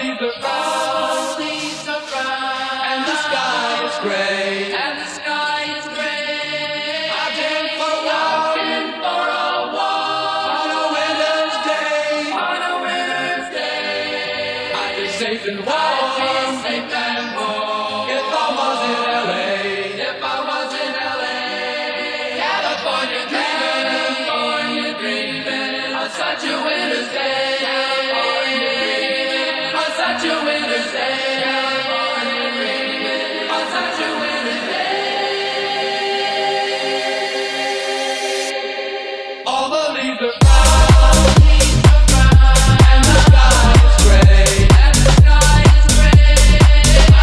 And the sky is gray.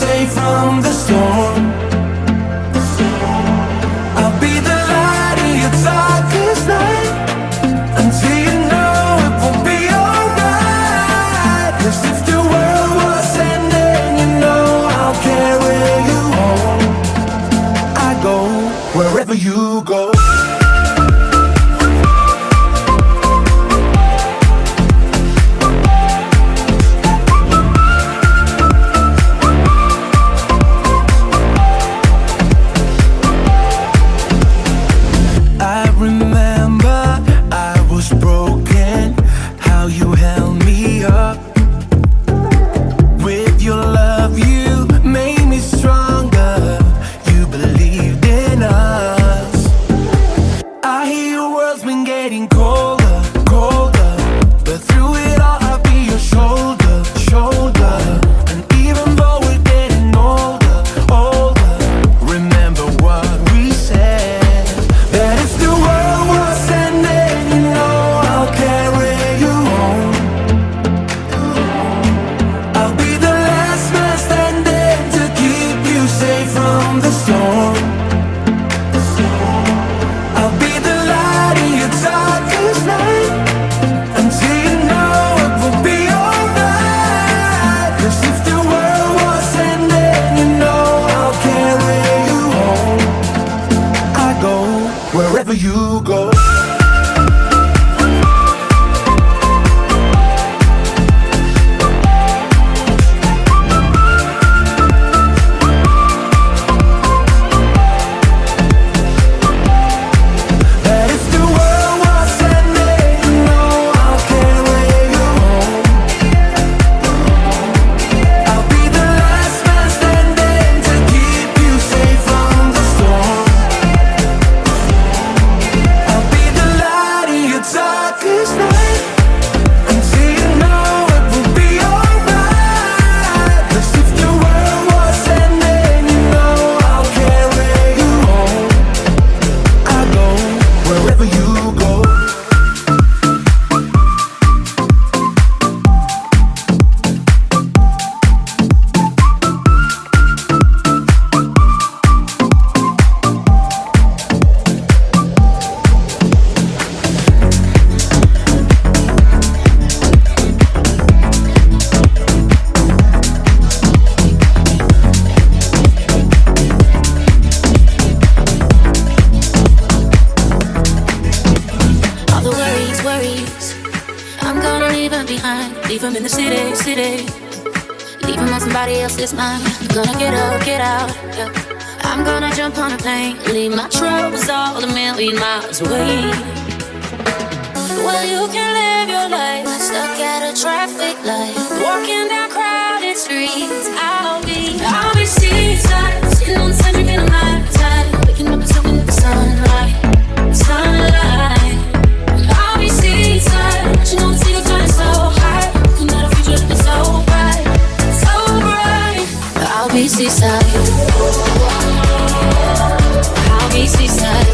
safe from the storm. I'll be the light in your darkest night, until you know it will be alright. 'Cause if the world was ending, you know I'll carry you home. I go wherever you go. Wherever you go. Leave him in the city. Leave him on somebody else's mind. I'm gonna get out, yeah. I'm gonna jump on a plane, leave my troubles all a million miles away. Well, you can live your life stuck at a traffic light, walking down crowded streets. I'll be seaside, sitting on the sand, drinking a Mai Tai, waking up and soaking up the sunlight. I'll be seaside, watching all the seagulls flying so high, looking at a future looking so bright, so bright. I'll be seaside. I'll be seaside.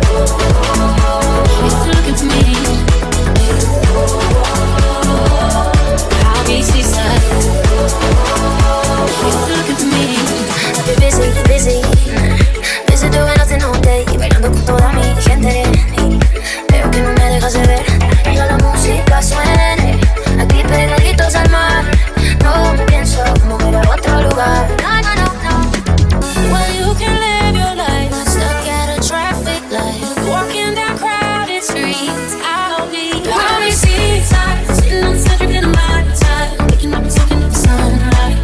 If you're looking for me, I'll be seaside. If you're looking for me, I'll be busy doing nothing all day, bailando con toda mi gente. Veo que no me dejas de ver, ya la música suene, aquí pegaditos al mar. No me pienso mover a otro lugar. No. Well, you can live your life stuck at a traffic light, walking down crowded streets. I'll be seaside, sitting on the sand, drinking a Mai Tai, waking up and soaking up the sunlight.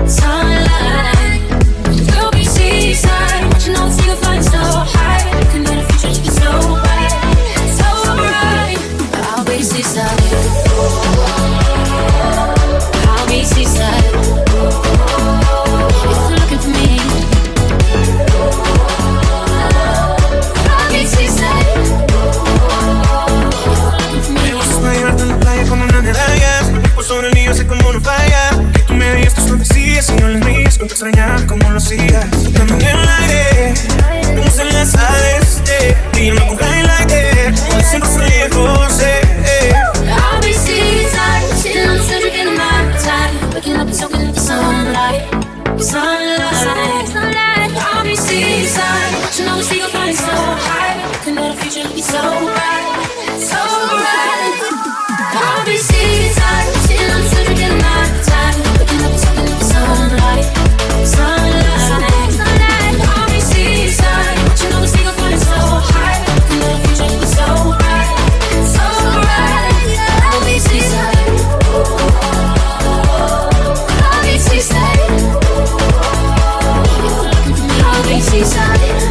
We'll be seaside, watching all the seagulls flying so high, looking at a future looking so bright, so bright. I'll be seaside. I'll be seaside. If you're looking for me, I'll be seaside. Me gusta llevarte en la playa como una medalla, el tiempo sobre mí, yo sé cómo no falla. Que tú me digas tus fantasías y no las mías, con te extrañar como lo hacías. Tocando en el aire, vamos en las aves, y yo no con highlight, siempre soy lejos, I'll be seaside, sitting on the sand, drinking a Mai Tai, waking up and soaking up the sunlight. It's so right, so right. I'll be seaside, sitting on the street again night time, looking up something in the sunlight, sunlight. I'll be seaside, watching all the seagulls flying so high, looking at the future, it's so right, so right. I'll be seaside, I'll be seaside, I'll be seaside.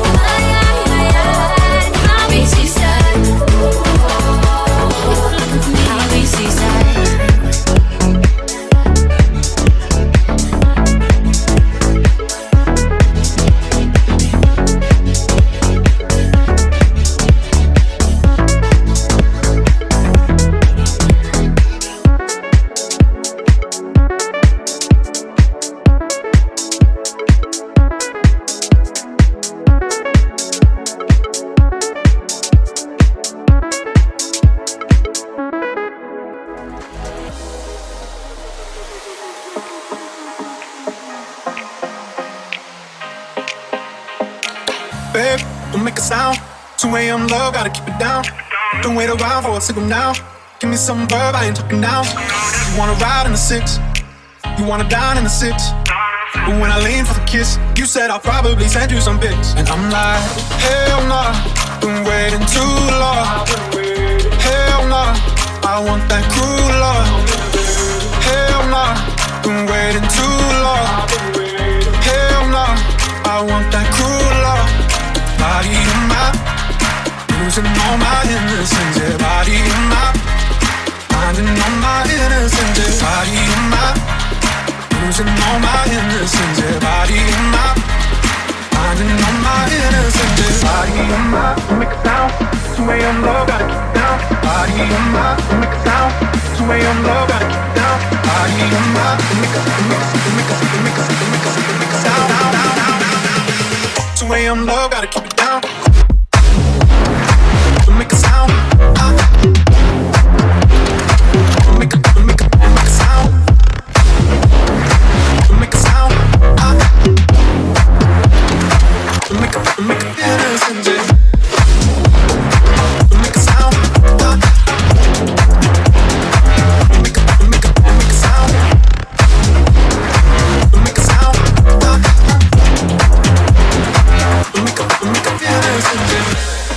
Babe, don't make a sound. 2 a.m. love, gotta keep it down. Don't wait around for a signal now. Give me some verb, I ain't talking now. You wanna ride in the 6, you wanna dine in the 6. But when I lean for the kiss, you said I'll probably send you some pics. And I'm like, hell nah, been waiting too long. Hell nah, I want that cruel love. Hell nah, been waiting too long. Hell nah, I want that cruel love. Body of mine, losing all my innocence. Yeah, body of mine, finding all my innocence. Yeah, body of mine, losing all my innocence. Yeah, body of mine, finding all my innocence. Yeah, body of mine, make a sound. 2 a.m. love, gotta keep it down. Body of mine, make a sound. 2 a.m. love, gotta keep it down. Body of mine, make a sound. 2 a.m. love, gotta keep it down. Make a sound. Make a sound. Make a sound. Make a innocent day. Make a sound. Make a sound. Make a sound. Make a innocent day.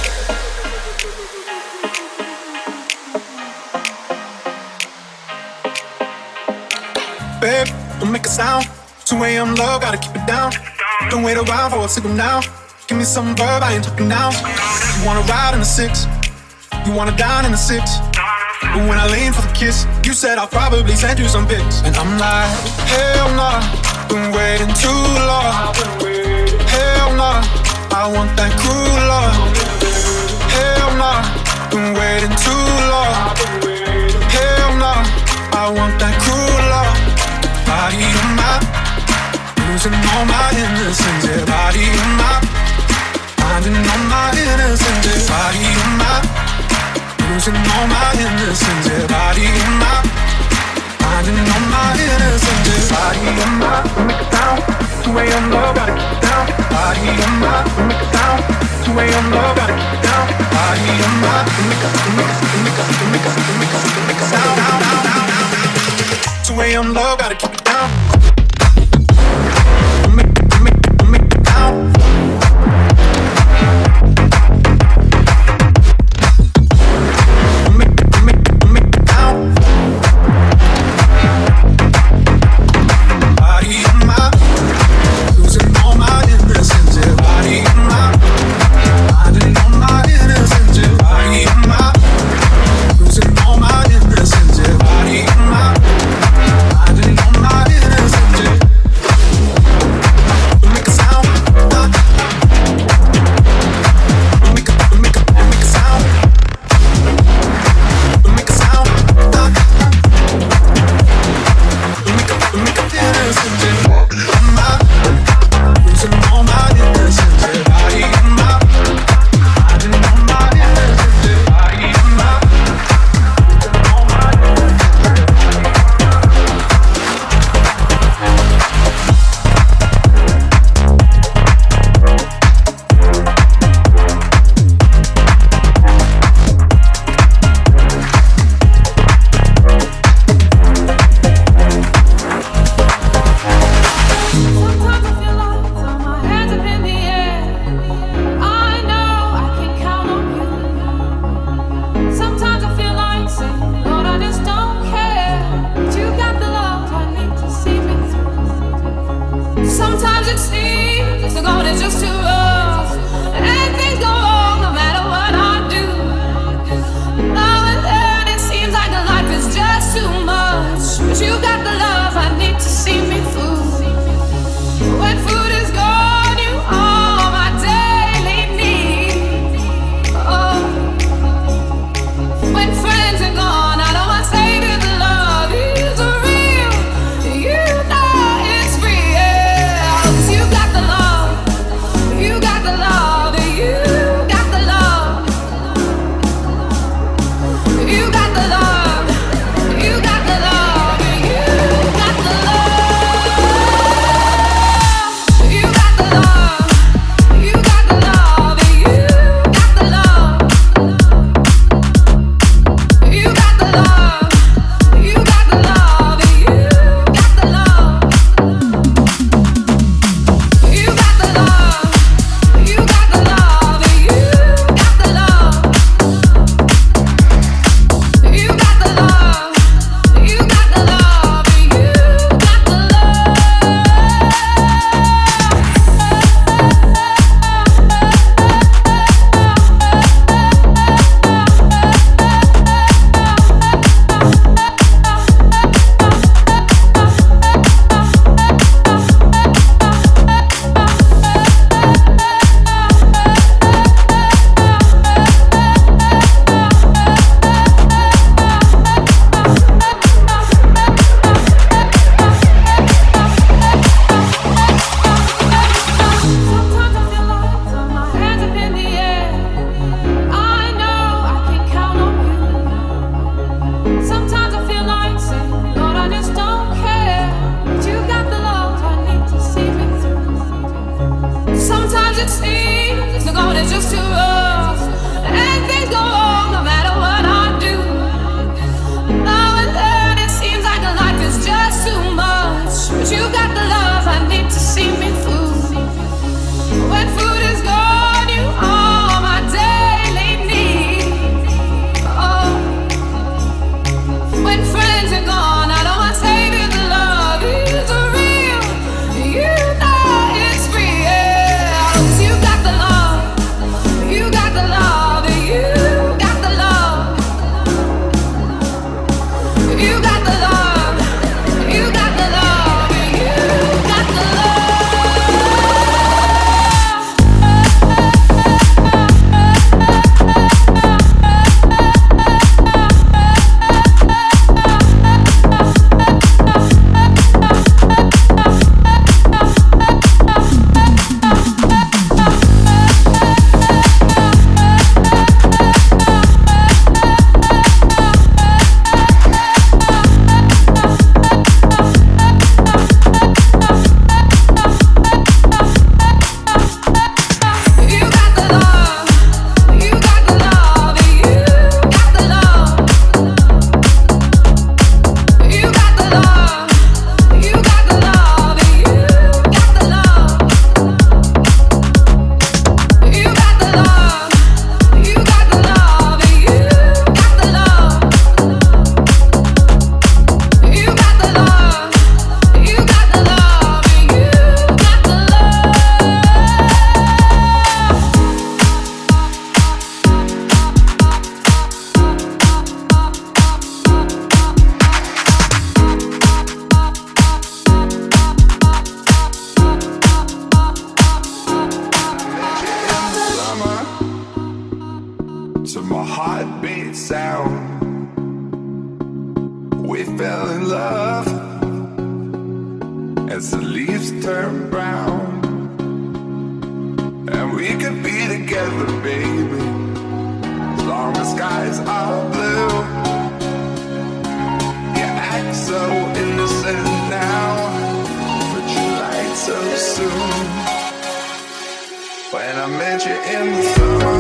Babe, don't make a sound. 2 a.m. love, gotta keep it down. Don't wait around for a signal now. Give me some verb, I ain't talking now. You wanna ride in the 6, you wanna dine in the 6. But when I lean for the kiss, you said I'll probably send you some pics. And I'm like, hell nah, been waiting too long. Hell nah, I want that cruel love. Hell nah, been waiting too long. Hell nah, I want that cruel love. Body of mine, losing all my innocence. Yeah, body of mine, finding all my innocence. Yeah, body of mine, losing all my innocence. Yeah, body of mine, finding all my innocence. Yeah, body of mine, make a sound. 2 a.m. love, gotta keep it down. Body of mine, make a sound. 2 a.m. love, gotta keep it down. Body of mine, make a sound. 2 a.m. love, gotta keep it down. Make it down. Make it down. Body of mine, losing all my innocence. Yeah, body of mine, finding all my innocence. Yeah, body of mine, losing all my innocence. Yeah, body of mine, finding all my innocence. is just too rough, and things go wrong no matter what I do. Now and then it seems like life is just too much, but you got the love I need to see me through. When food is gone, you are my daily need. Oh, when friends are gone, I know I say that the love is real. You know it's real. 'Cause you got the love, you got the love, you got the love, you got the love, you got the love, you got the love. You got the love, you got the love, you got the love, you got the love, you got the love, you got the love, you got the love, you got the love, you got the love, you got the love, you got the love, you got the To my heartbeat sound, we fell in love as the leaves turn brown, and we could be together, baby, as long as skies are blue. You act so innocent now, but you lied so soon. When I met you in the summer,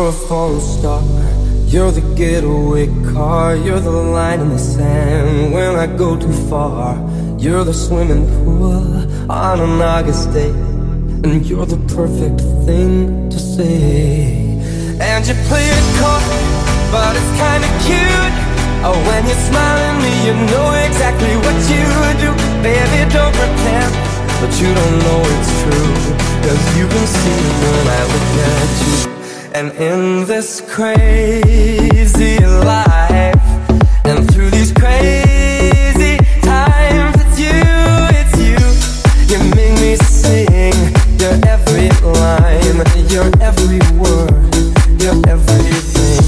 You're a falling star, you're the getaway car, you're the line in the sand when I go too far. You're the swimming pool on an August day, and you're the perfect thing to say. And you play it coy, but it's kinda cute. Oh, when you smile at me, you know exactly what you do. Baby, don't pretend, but you don't know it's true, 'cause you can see when I look at you. And in this crazy life, and through these crazy times, it's you, you make me sing your every line, your every word, your everything.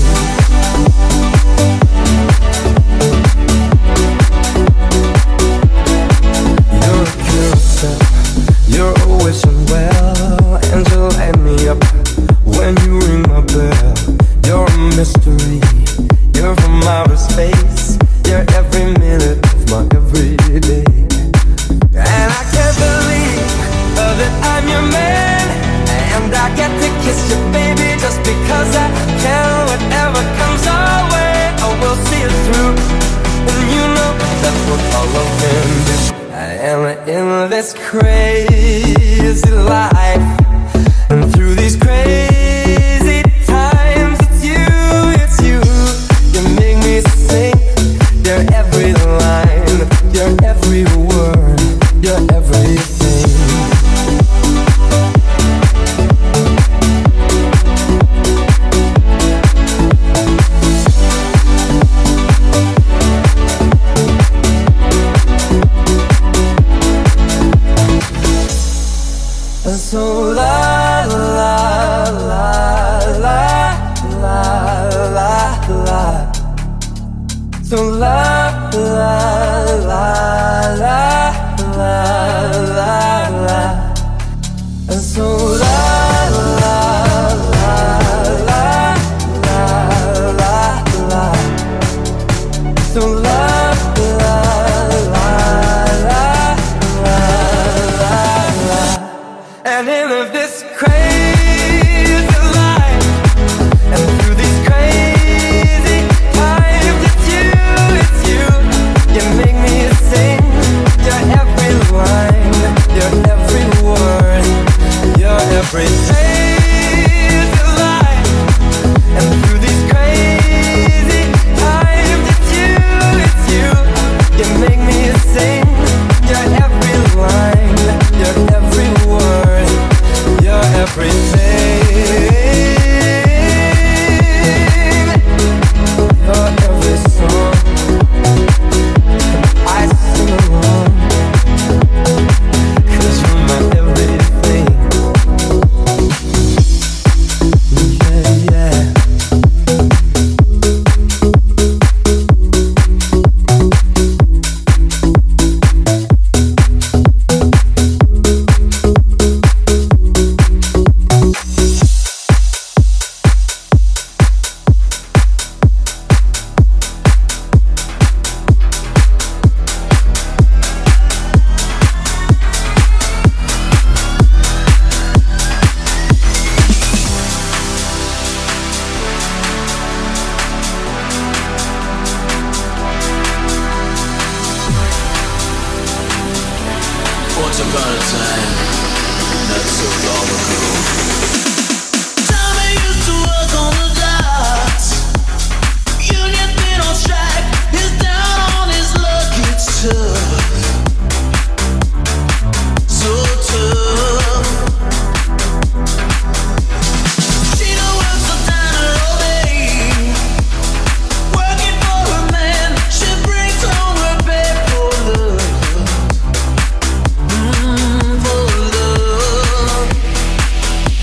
You're a carousel, you're always unwell, and you light me up when you ring my bell. You're a mystery, you're from outer space, you're every minute of my everyday. And I can't believe that I'm your man, and I get to kiss you, baby, just because I can. Whatever comes our way, oh, we'll see it through, and you know that's what all love can do. And in this crazy life, and through these crazy times, it's you, you make me sing your every line, your every word, your everything. And so la la la la la la la. So la la la la la la la. And so la la la la la la la. So la la la la la la. And in this crazy life, and through these crazy times, it's you, you make me sing your every line, your every word, your everything. Life, and through these crazy times, it's you, you make me sing your every line, your every word, your everything, your every song. I sing along, 'cause you're my everything. Yeah, yeah. Once upon a time, not so long ago, Tommy used to work on the docks. Union's been on strike, he's down on his luck. It's tough, so tough. She don't work so down all day, working for her man. She brings home her bed for love. For love.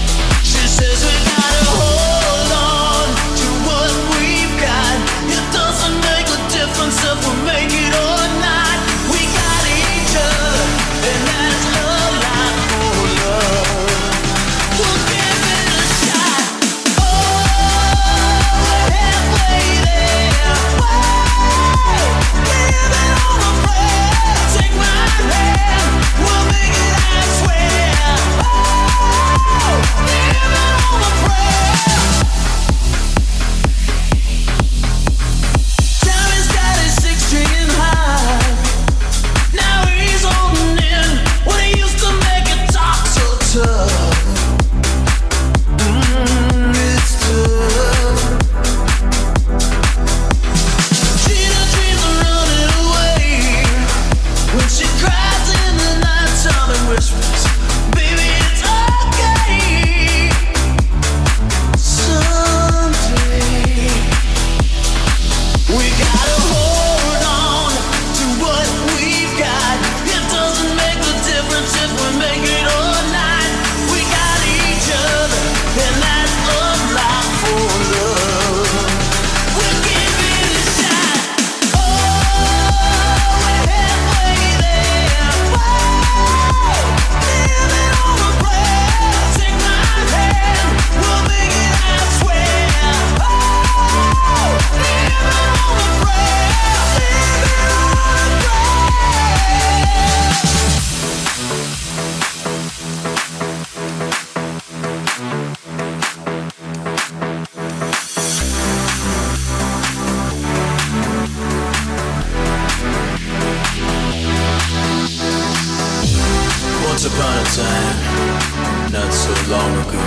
upon a time, not so long ago.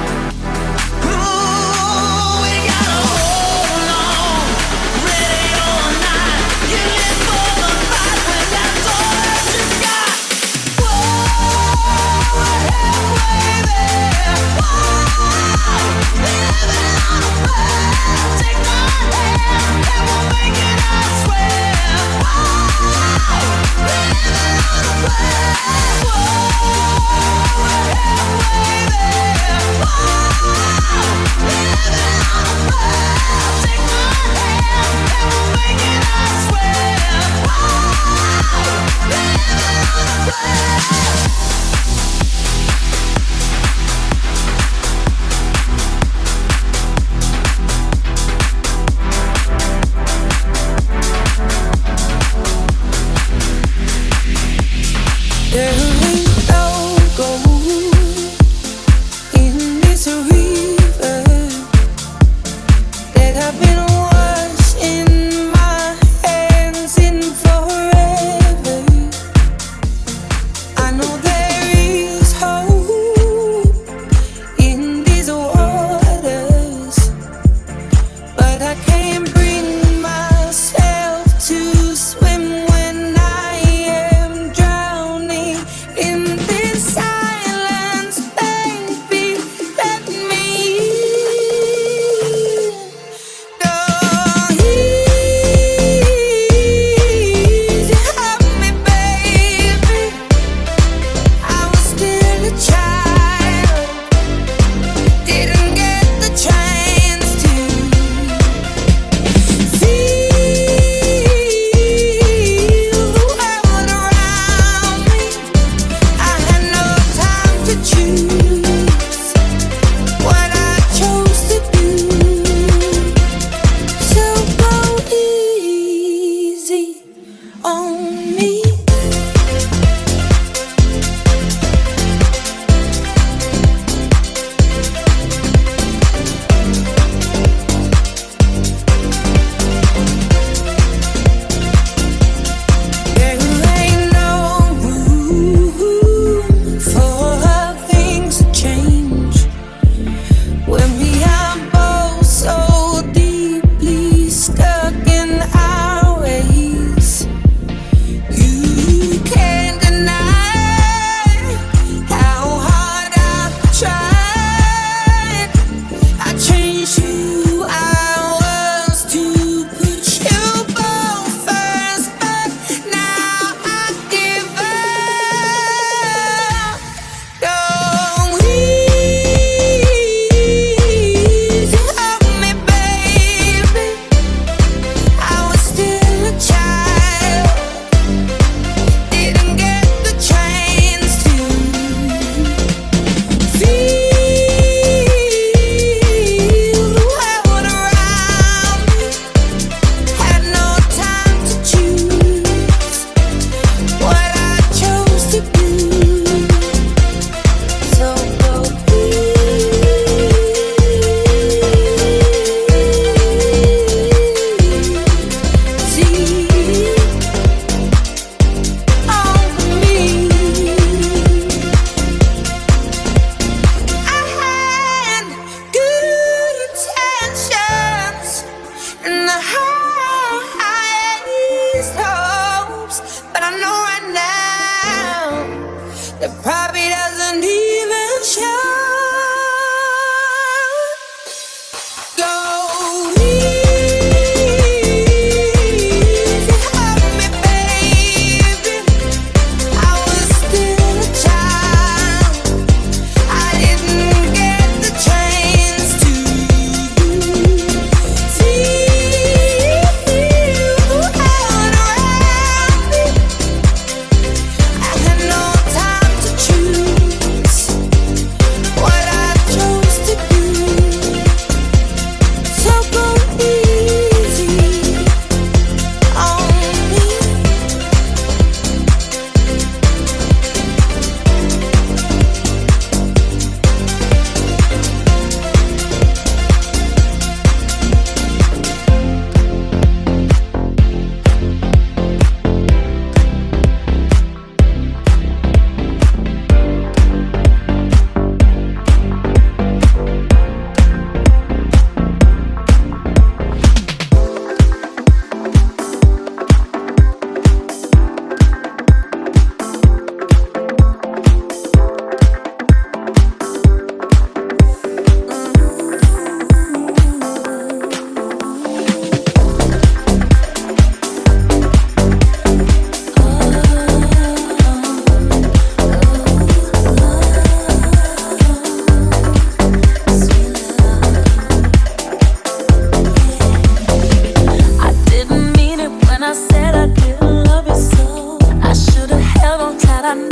Ooh, we gotta hold on, ready or not. You live for the fight when that's all that you got. Whoa, hey, baby, whoa, living on a prayer. Take my hand and we'll make it, I swear. Whoa, living on a prayer. To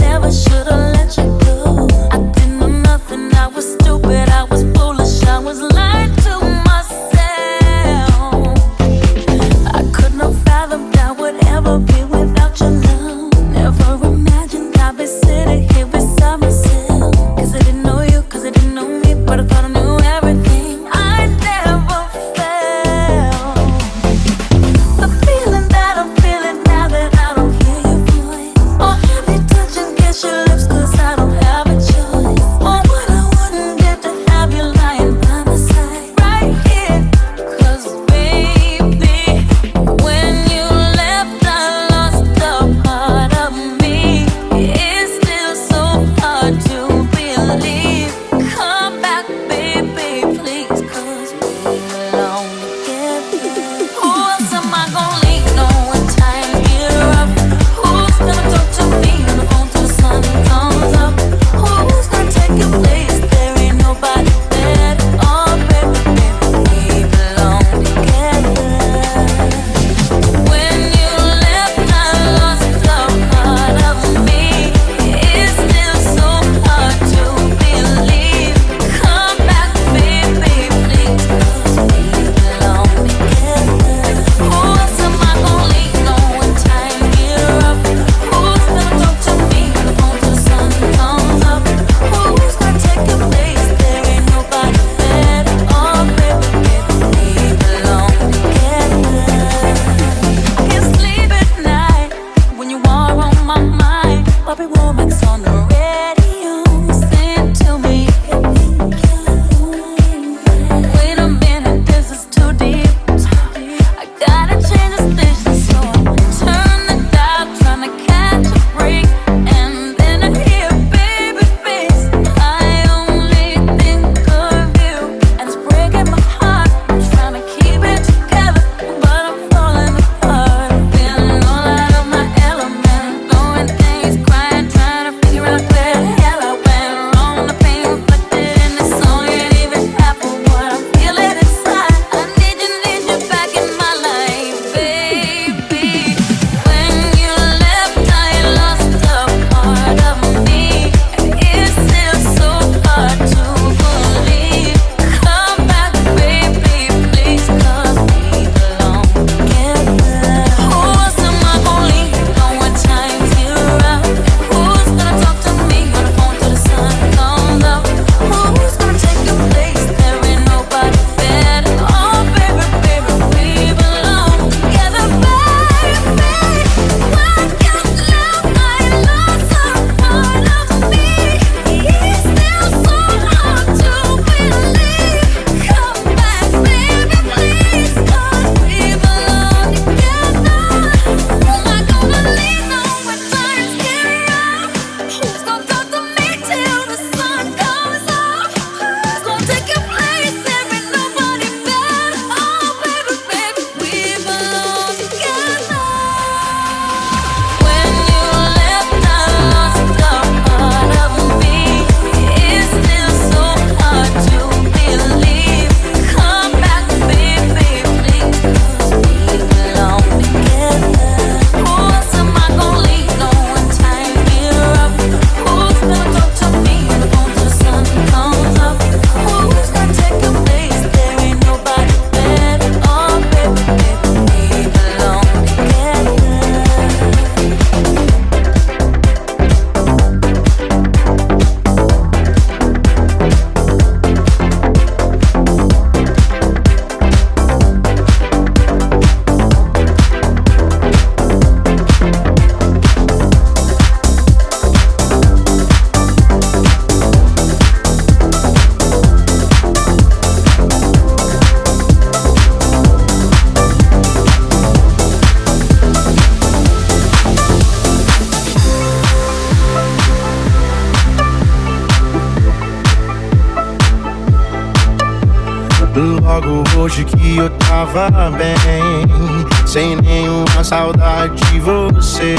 Logo hoje que eu tava bem, sem nenhuma saudade de você,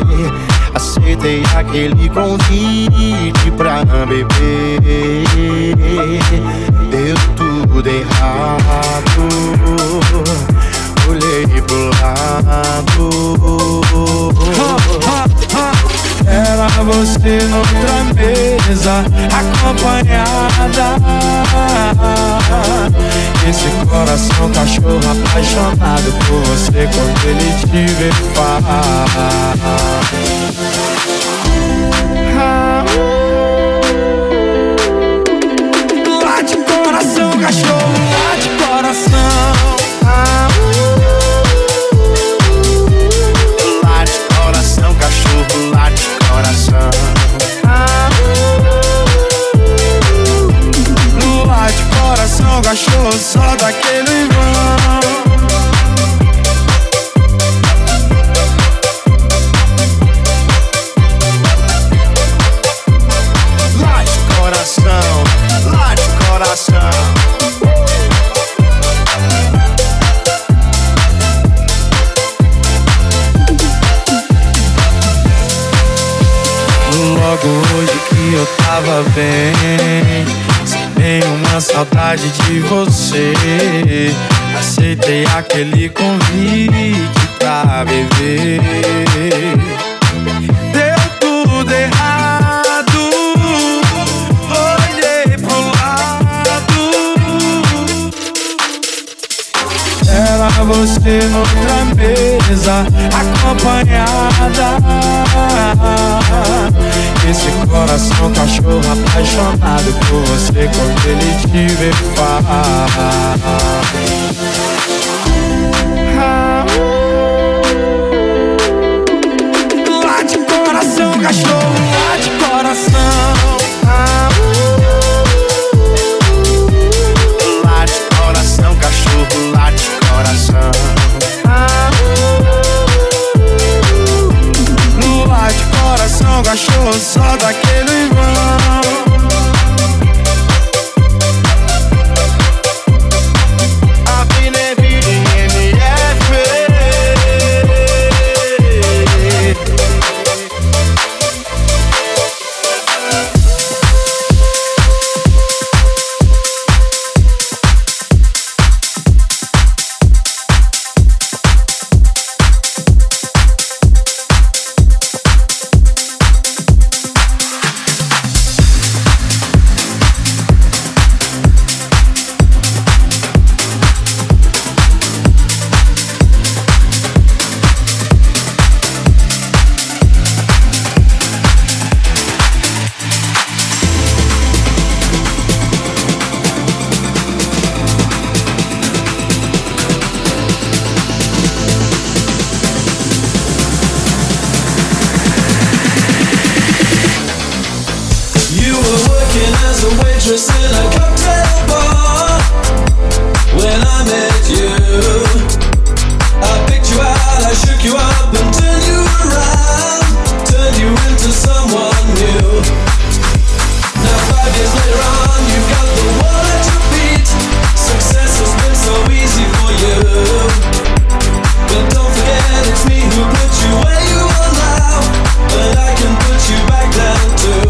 aceitei aquele convite pra beber. Deu tudo errado, olhei pro lado. Era Era você noutra mesa, acompanhada. Esse coração cachorro apaixonado por você quando ele te vê falar. Late coração cachorro, late coração. Late coração cachorro, late coração. Late coração cachorro, só daquele vão. Late coração, late coração. Logo hoje que eu tava bem, sem nenhuma saudade de você, aceitei aquele convite pra beber. Deu tudo errado, olhei pro lado. Era você noutra mesa, acompanhada. Esse coração cachorro apaixonado por você quando ele te vê falar. Late coração cachorro, late coração. Late coração cachorro, late coração. Late coração cachorro, só daquele vão. Waitress in a cocktail bar. When I met you, I picked you out, I shook you up and turned you around, turned you into someone new. Now 5 years later on, you've got the world at your feet. Success has been so easy for you, but don't forget it's me who put you where you are now, but I can put you back down too.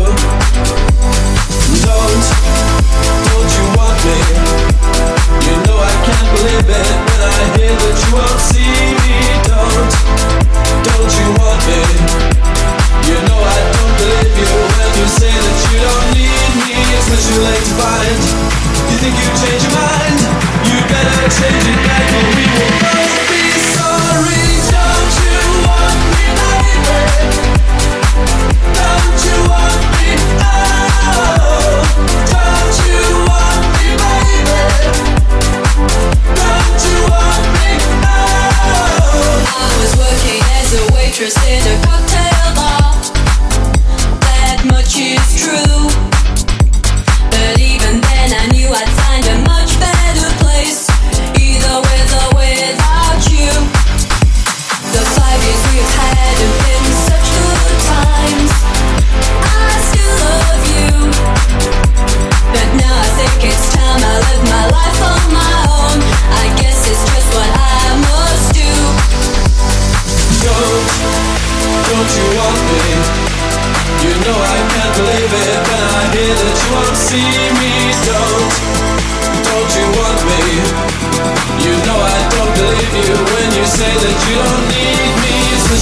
Don't you want me? You know I can't believe it when I hear that you won't see me. Don't you want me? You know I don't believe you when you say that you don't need me. It's much too late to find. You think you change your mind? You better change it back or we will both be sorry. Don't you want me, baby? Don't you want me? Oh, don't you want me, baby? Don't you want me? Oh. I was working as a waitress in a cocktail bar. That much is true. But even then I knew I'd find a much better place, either with or without you. The 5 years we've had have been such good times. I still love you, but now I think it's time I live my life on my own. I guess it's just what I must do. Don't you want me? You know I can't believe it when I hear that you won't see me. Don't you want me? You know I don't believe you when you say that you don't need me.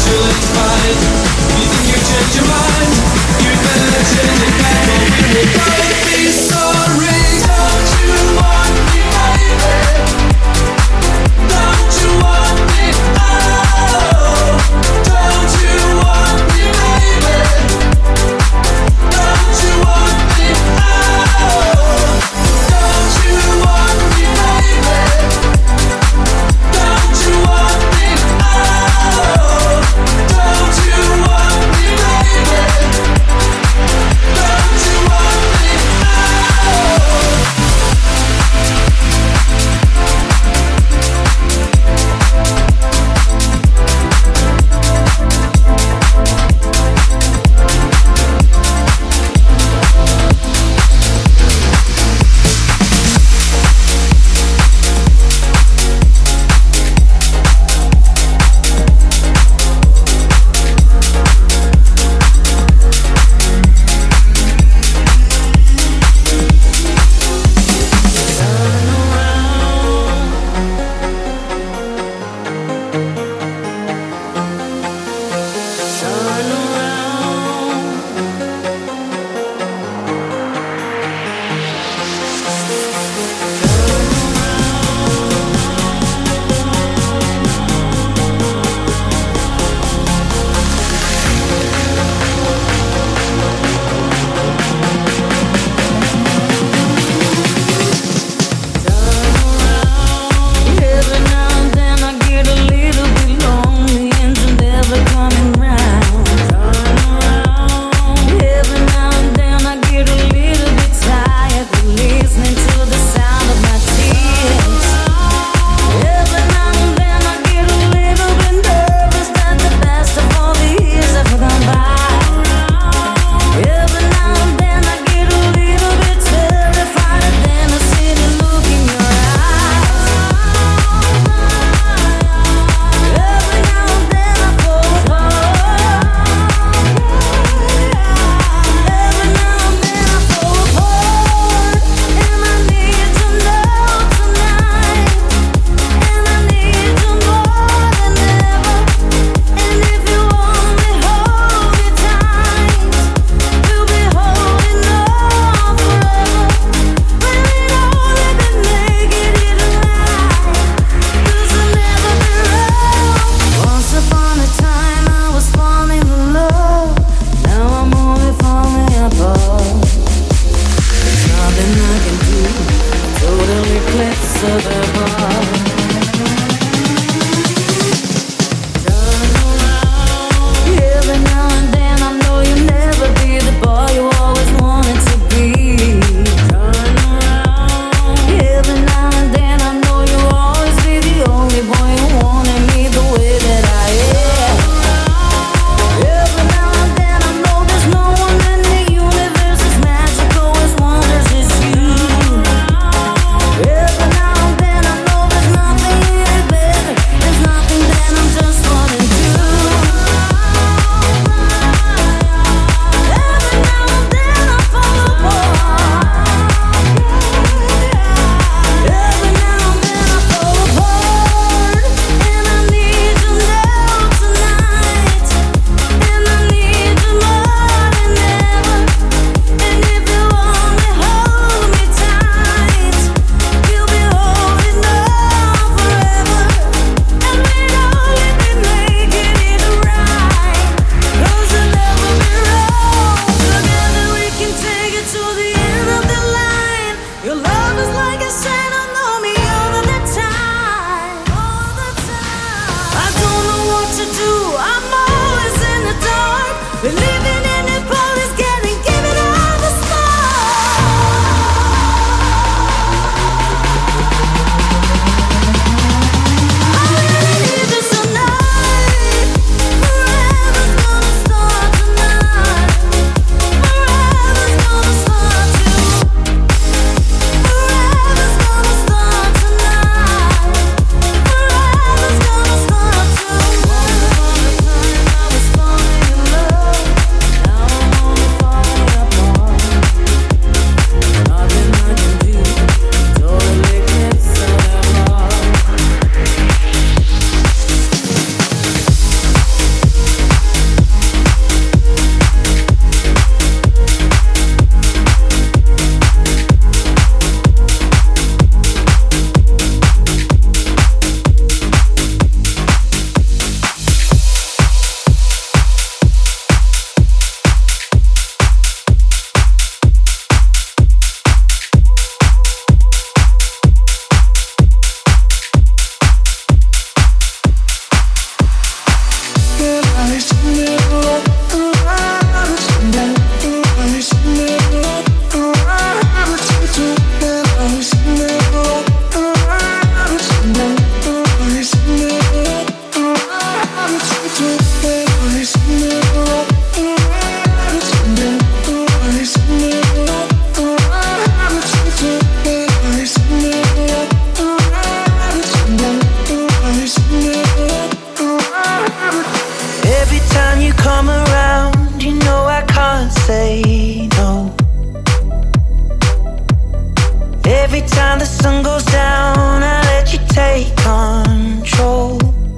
time the sun goes down, I let you take control.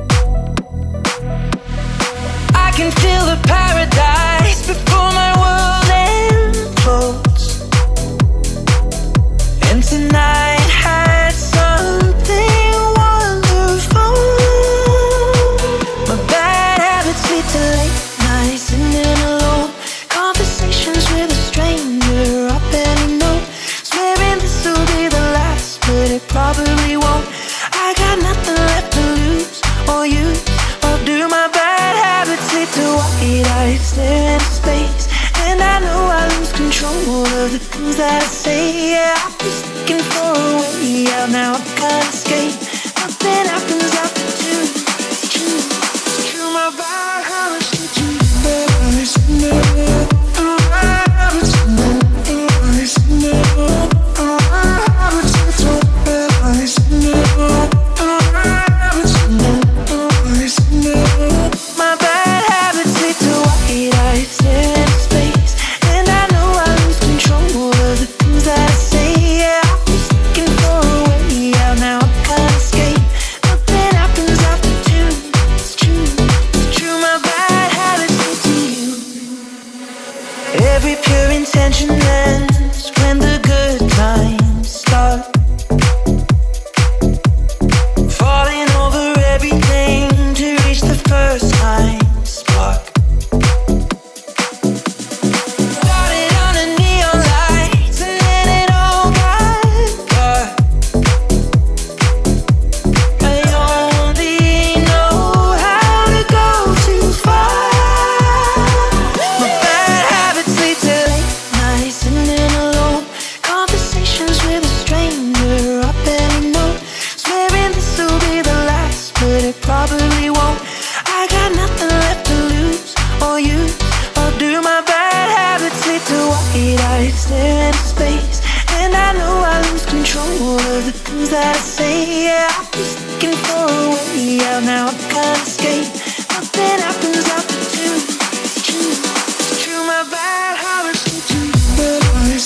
I can feel the paradise before my world implodes. And tonight had something wonderful. My bad habits lead to late nights sitting alone. Conversations with a stranger I barely know. Swearing this will be the last, but it probably won't. I got nothing left to lose or use or do. My bad habits lead to white eyes stare into space. And I know I lose control of the things that I say. Yeah, I've been looking for a way out, now I can't escape. Nothing happens after two. It's true, it's true. My bad habits lead to bad eyes. My bad habits lead to white eyes stare into space. And I know I lose control of the things that I say. Yeah, I was looking for a way out, now I can't escape. Nothing happens after two. It's true, it's true. My bad habits lead to you. Every pure intention ends when the good times start. Falling over everything to reach the first time spark. Started on a neon lights and then it all got dark. I only know how to go too far. My bad habits lead to late nights sitting alone. Conversations with a stranger I barely know. Swearing this will be the last, but it probably won't. I got nothing left to lose or use or do. My bad habits lead to white eyes stare into space. And I know I lose control of the things that I say. Yeah, I was looking for a way out, now I can't escape. Nothing happens after two. It's true, it's true. My bad habits lead to bad eyes.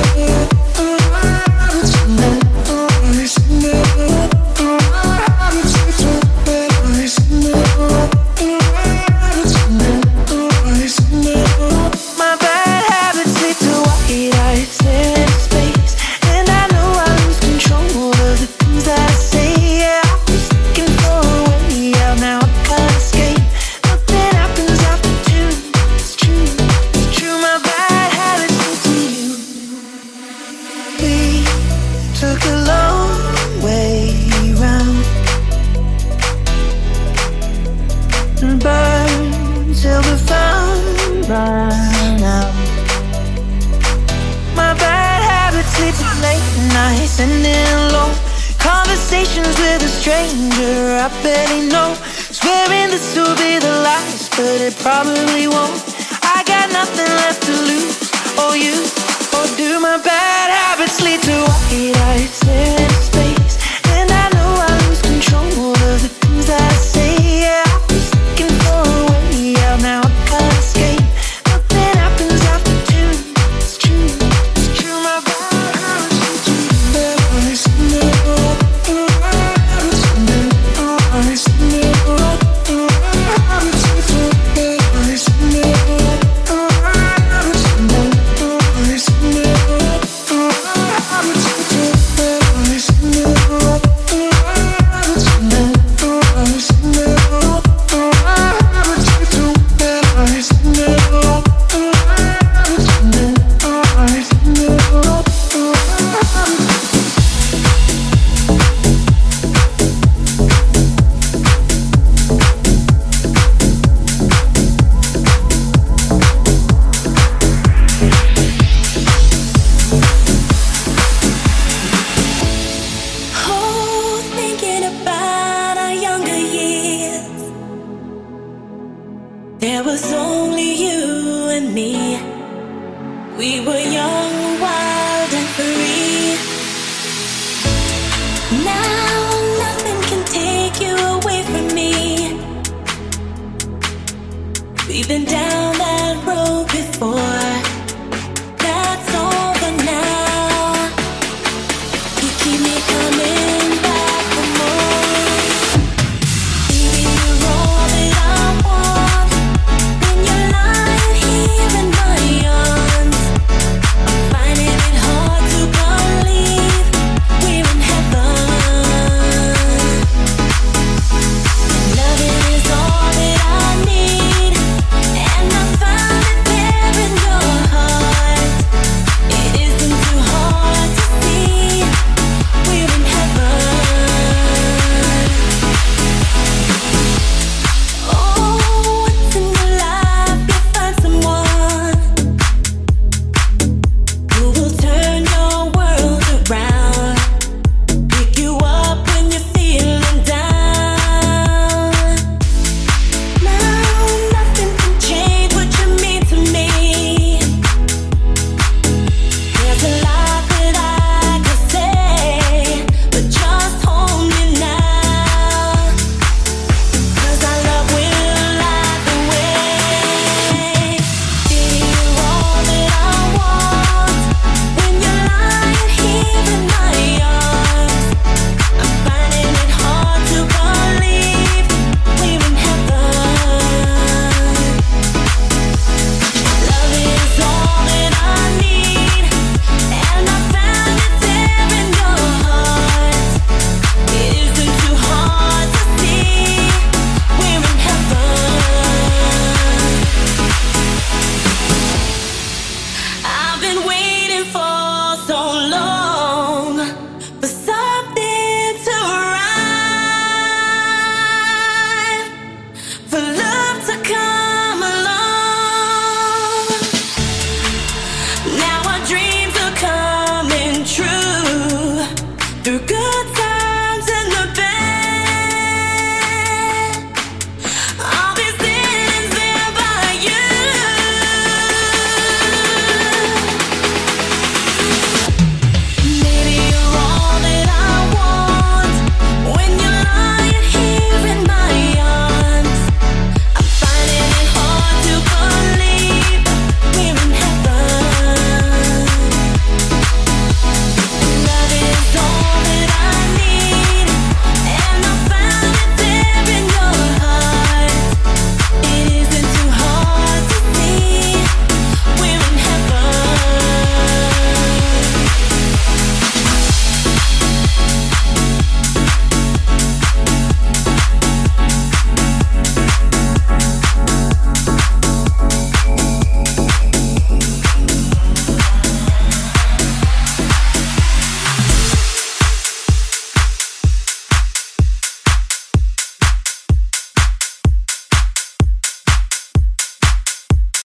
My bad habits lead to white eyes stare into space. And I know I lose control of the things that I say. Yeah, I was looking for a way out, now I can't escape. Nothing happens after two. It's true, it's true. My bad habits lead to you. We took a long way round and burned till the fun ran out. My bad habits lead to late nights and alone. Conversations with a stranger I barely know. Swearing this will be the last, but it probably won't. I got nothing left to lose or use or do. My bad habits lead to white eyes stare into space. And I know I lose control of the things that I say. Yeah, I was looking for a way out, now I can't escape. Nothing happens after two. It's true, it's true. My bad habits lead to bad eyes. There was only you and me. We were young.